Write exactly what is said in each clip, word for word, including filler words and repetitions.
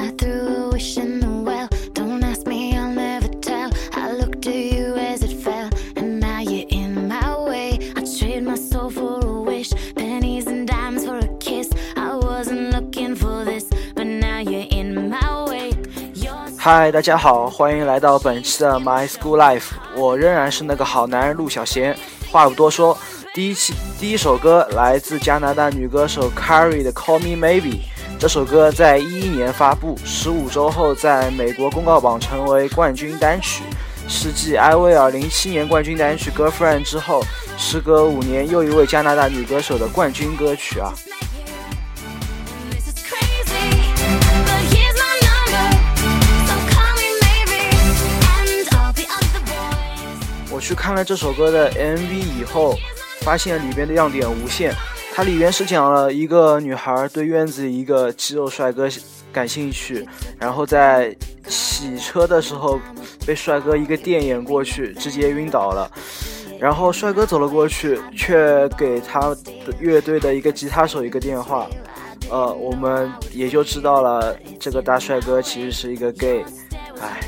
嗨，大家好，欢迎来到本期的 My School Life， 我仍然是那个好男人陆小贤。话不多说，第一期第一首歌来自加拿大女歌手 Carrie 的 Call Me Maybe。这首歌在一一年发布，十五周后在美国公告榜成为冠军单曲，是继艾薇儿零七年冠军单曲 Girlfriend 之后，时隔五年又一位加拿大女歌手的冠军歌曲啊。我去看了这首歌的 M V 以后，发现里边的亮点无限。它里边是讲了一个女孩对院子里一个肌肉帅哥感兴趣，然后在洗车的时候被帅哥一个电眼过去，直接晕倒了。然后帅哥走了过去，却给他的乐队的一个吉他手一个电话，呃，我们也就知道了这个大帅哥其实是一个 gay。 唉，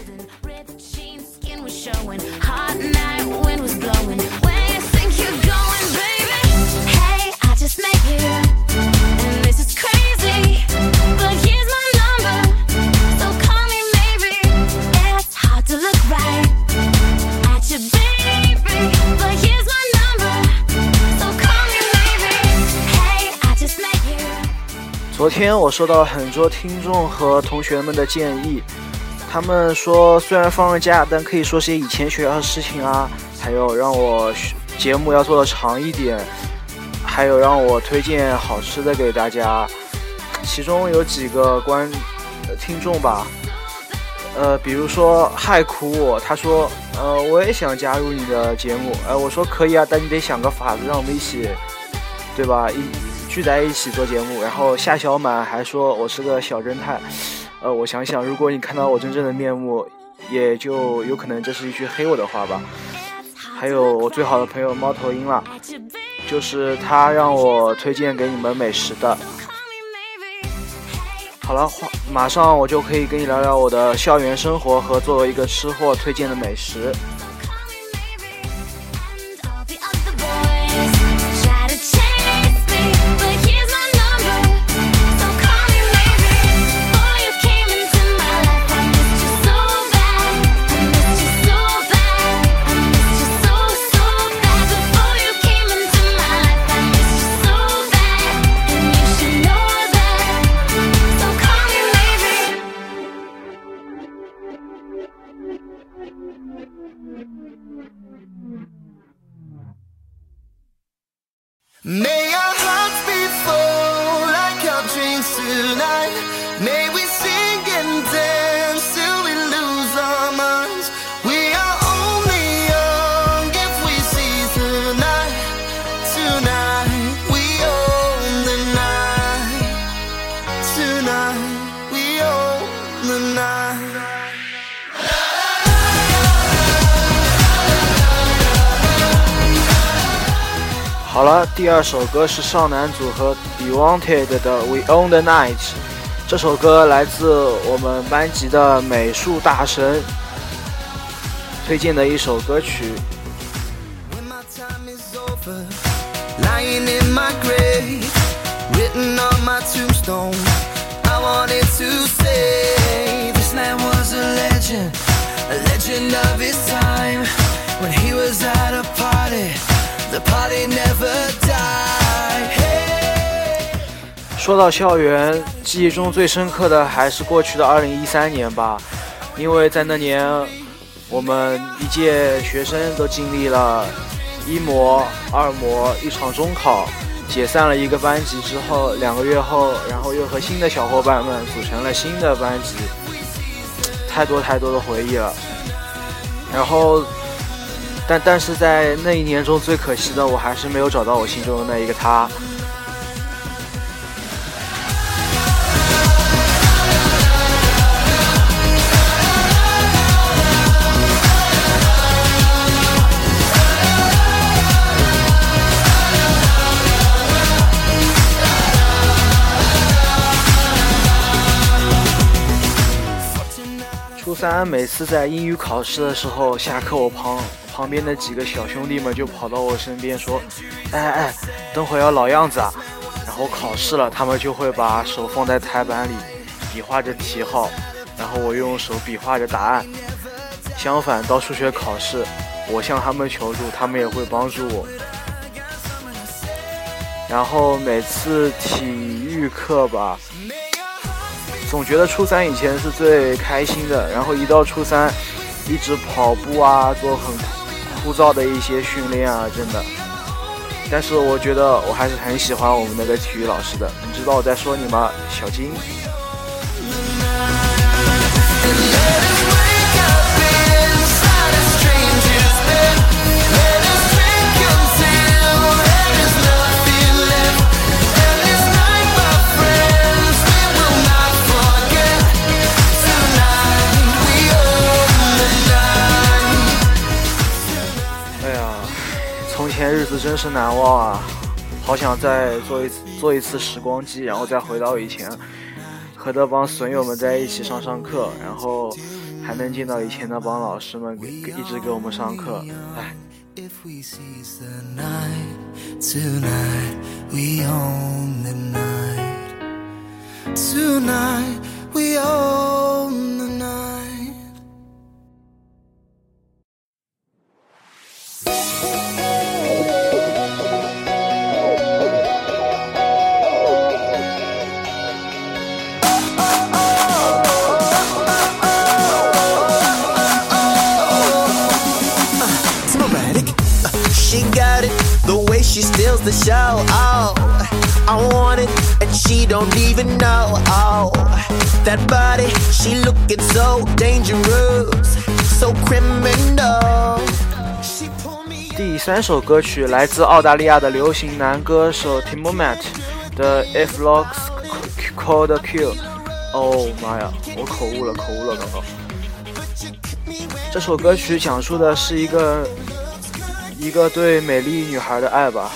昨天我收到了很多听众和同学们的建议，他们说虽然放了假，但可以说些以前学校的事情啊，还有让我节目要做的长一点，还有让我推荐好吃的给大家。其中有几个观、呃、听众吧，呃，比如说害苦我，他说呃我也想加入你的节目，呃我说可以啊，但你得想个法子让我们一起，对吧，一聚在一起做节目。然后夏小满还说我是个小侦探，呃，我想想，如果你看到我真正的面目，也就有可能这是一句黑我的话吧。还有我最好的朋友猫头鹰啦，就是他让我推荐给你们美食的。好了，马上我就可以跟你聊聊我的校园生活和作为一个吃货推荐的美食。 May our hearts be full like our dreams tonight. May we sing and dance till we lose our minds. We are only young if we seize the night. Tonight we own the night. Tonight we own the night. 好了，第二首歌是少男组合 Be Wanted 的 We Own the Night。 这首歌来自我们班级的美术大神推荐的一首歌曲。 Lying in my grave, written on my tombstone, I wanted to say this man was a legend, a legend of his time. When he was at a party,The party never died. Hey. 说到校园，记忆中最深刻的还是过去的二零一三年吧，因为在那年，我们一届学生都经历了一模、二模，一场中考，解散了一个班级之后，两个月后，然后又和新的小伙伴们组成了新的班级，太多太多的回忆了。然后。但但是在那一年中最可惜的，我还是没有找到我心中的那一个他。 三每次在英语考试的时候，下课我旁旁边的几个小兄弟们就跑到我身边说：“哎哎，等会要老样子啊！”然后考试了，他们就会把手放在台板里，比划着题号，然后我用手比划着答案。相反，到数学考试，我向他们求助，他们也会帮助我。然后每次体育课吧，总觉得初三以前是最开心的，然后一到初三，一直跑步啊，做很枯燥的一些训练啊，真的。但是我觉得我还是很喜欢我们那个体育老师的，你知道我在说你吗，小金？日子真是难忘啊，好想再做一次做一次时光机，然后再回到以前，和那帮损友们在一起上上课，然后还能见到以前那帮老师们给一直给我们上课。哎。 She steals the show, oh I want it, and she don't even know, oh That body, she looking so dangerous, so criminal 第三首歌曲来自澳大利亚的流行男歌手 Timbaland 的 If Looks Cold Kill。 哦妈呀，我口误了口误了刚刚。这首歌曲讲述的是一个一个对美丽女孩的爱吧。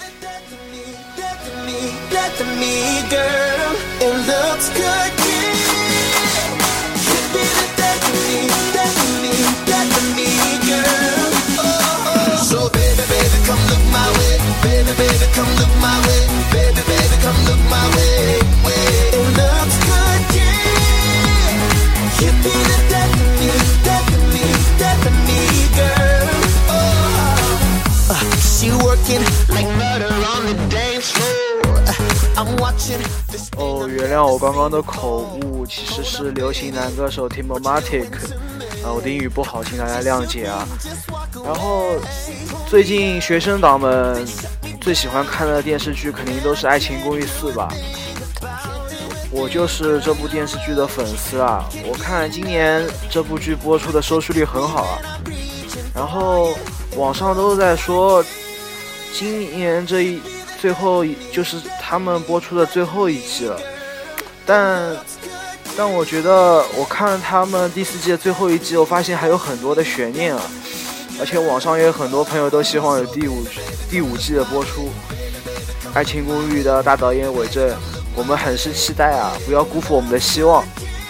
哦，原谅我刚刚的口误，其实是流行男歌手 Timbaland。啊，我的英语不好，请大家谅解啊。然后最近学生党们最喜欢看的电视剧肯定都是《爱情公寓四》吧。我就是这部电视剧的粉丝啊，我看今年这部剧播出的收视率很好啊。然后网上都在说，今年这一最后就是他们播出的最后一季了，但但我觉得我看了他们第四季的最后一季，我发现还有很多的悬念啊，而且网上也有很多朋友都希望有第五第五季的播出。爱情公寓的大导演韦正，我们很是期待啊，不要辜负我们的希望。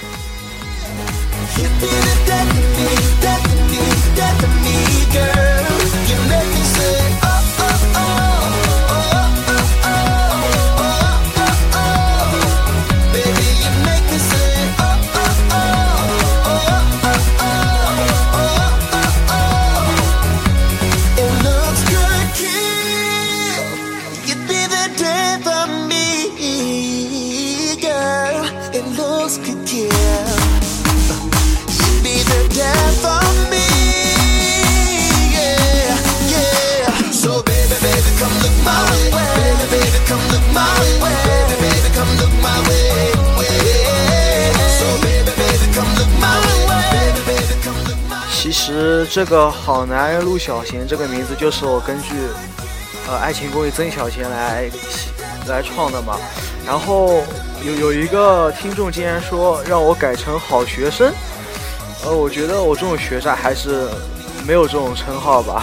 其实这个好男人陆小贤这个名字就是我根据呃爱情公寓曾小贤来来创的嘛。然后有有一个听众竟然说让我改成好学生，呃我觉得我这种学渣还是没有这种称号吧。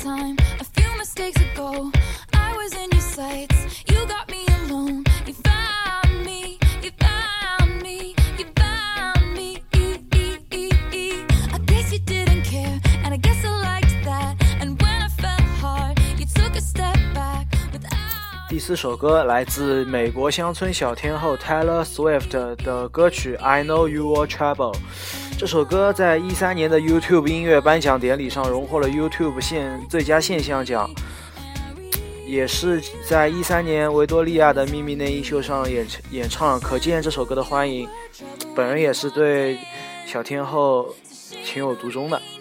time, a few mistakes ago, I was in your sights. You got me alone. You found me. You found me. You found me. I guess you didn't care, and I guess I liked that. And when I fell hard, you took a step back without. 第四首歌来自美国乡村小天后 Taylor Swift 的歌曲 I Know You Were Trouble。这首歌在一三年的 YouTube 音乐颁奖典礼上荣获了 YouTube 现最佳现象奖，也是在一三年维多利亚的秘密内衣秀上演演唱，可见这首歌的欢迎。本人也是对小天后情有独钟的。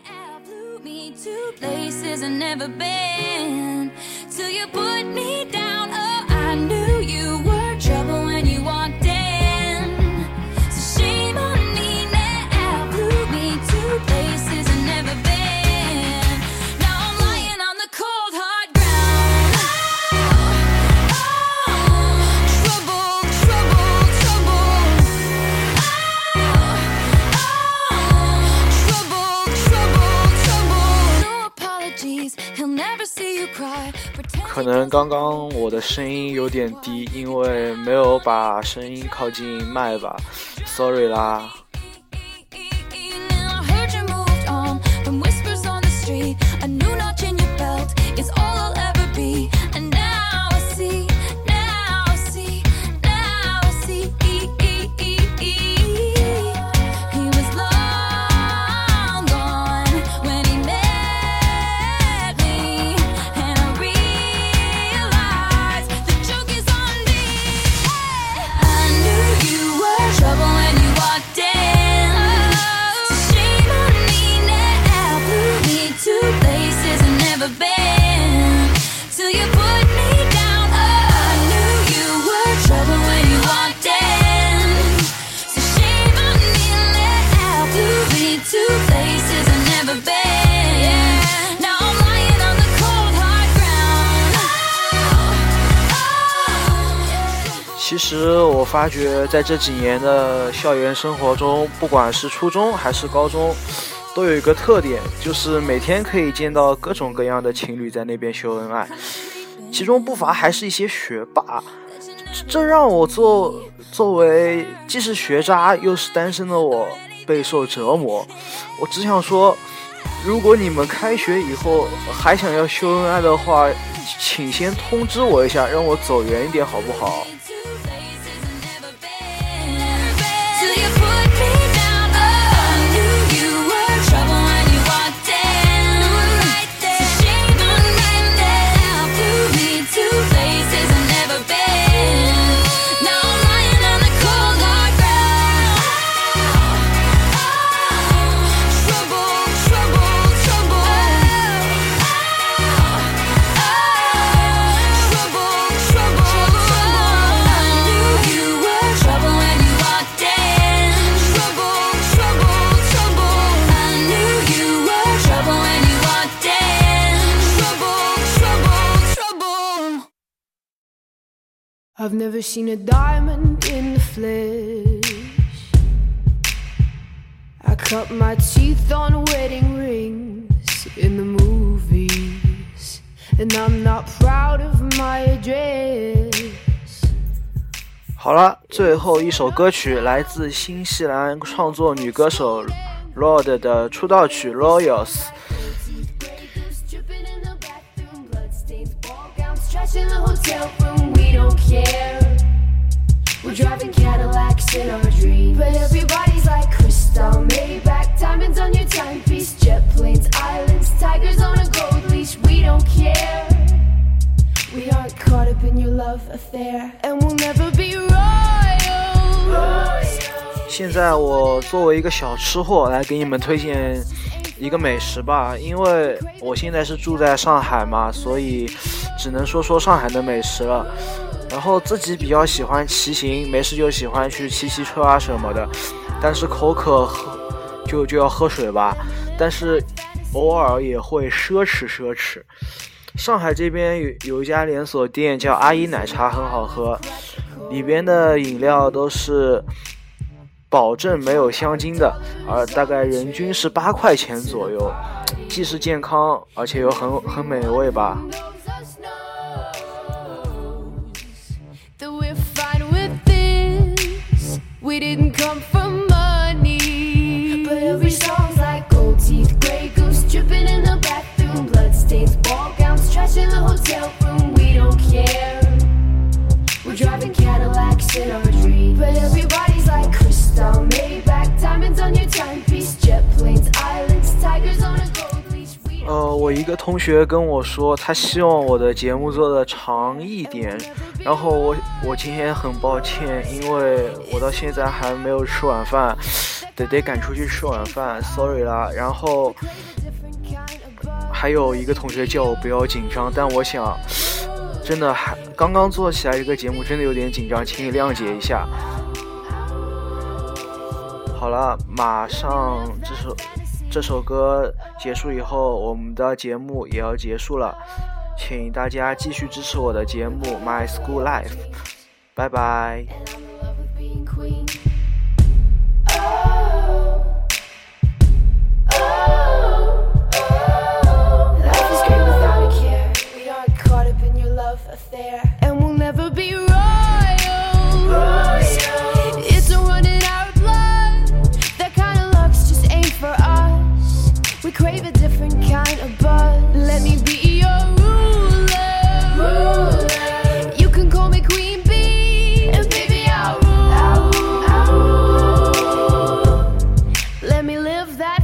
可能刚刚我的声音有点低，因为没有把声音靠近麦吧 ，sorry 啦。其实我发觉在这几年的校园生活中，不管是初中还是高中，都有一个特点，就是每天可以见到各种各样的情侣在那边秀恩爱，其中不乏还是一些学霸，这让我作作为既是学渣又是单身的我备受折磨。我只想说，如果你们开学以后还想要秀恩爱的话，请先通知我一下，让我走远一点好不好？ I've never seen a diamond in the flesh. I cut my teeth on wedding rings in the movies, and I'm not proud of my address. 好了，最后一首歌曲来自新西兰创作女歌手 Lorde 的出道曲 Royals。 In the hotel room, we don't care. We're driving Cadillacs in our dreams, but everybody's like crystal, Maybach, diamonds on your timepiece, jet planes, islands, tigers on a gold leash. We don't care. We aren't caught up in your love affair, and we'll never be royals. 现在我作为一个小吃货来给你们推荐一个美食吧，因为我现在是住在上海嘛，所以只能说说上海的美食了。然后自己比较喜欢骑行，没事就喜欢去骑骑车啊什么的，但是口渴喝就就要喝水吧，但是偶尔也会奢侈奢侈。上海这边有有一家连锁店叫阿姨奶茶，很好喝，里边的饮料都是保证没有香精的，而大概人均是八块钱左右，既是健康，而且又很很美味吧。 We didn't come from money, but every song's like gold teeth, grey goose dripping in the bathroom, bloodstains, ball gowns, trash in the hotel room. We don't care. We're driving Cadillacs in our dreams, but everybody's like crystal, Maybach, diamonds on your timepiece, jet planes, islands, tigers on a gold leash. 呃，我一个同学跟我说，他希望我的节目做的长一点。然后我我今天很抱歉，因为我到现在还没有吃晚饭，得得赶出去吃晚饭 ，sorry 啦。然后还有一个同学叫我不要紧张，但我想真的还刚刚做起来这个节目，真的有点紧张，请你谅解一下。好了，马上这首这首歌结束以后，我们的节目也要结束了。请大家继续支持我的节目 My School Life， 拜拜。 That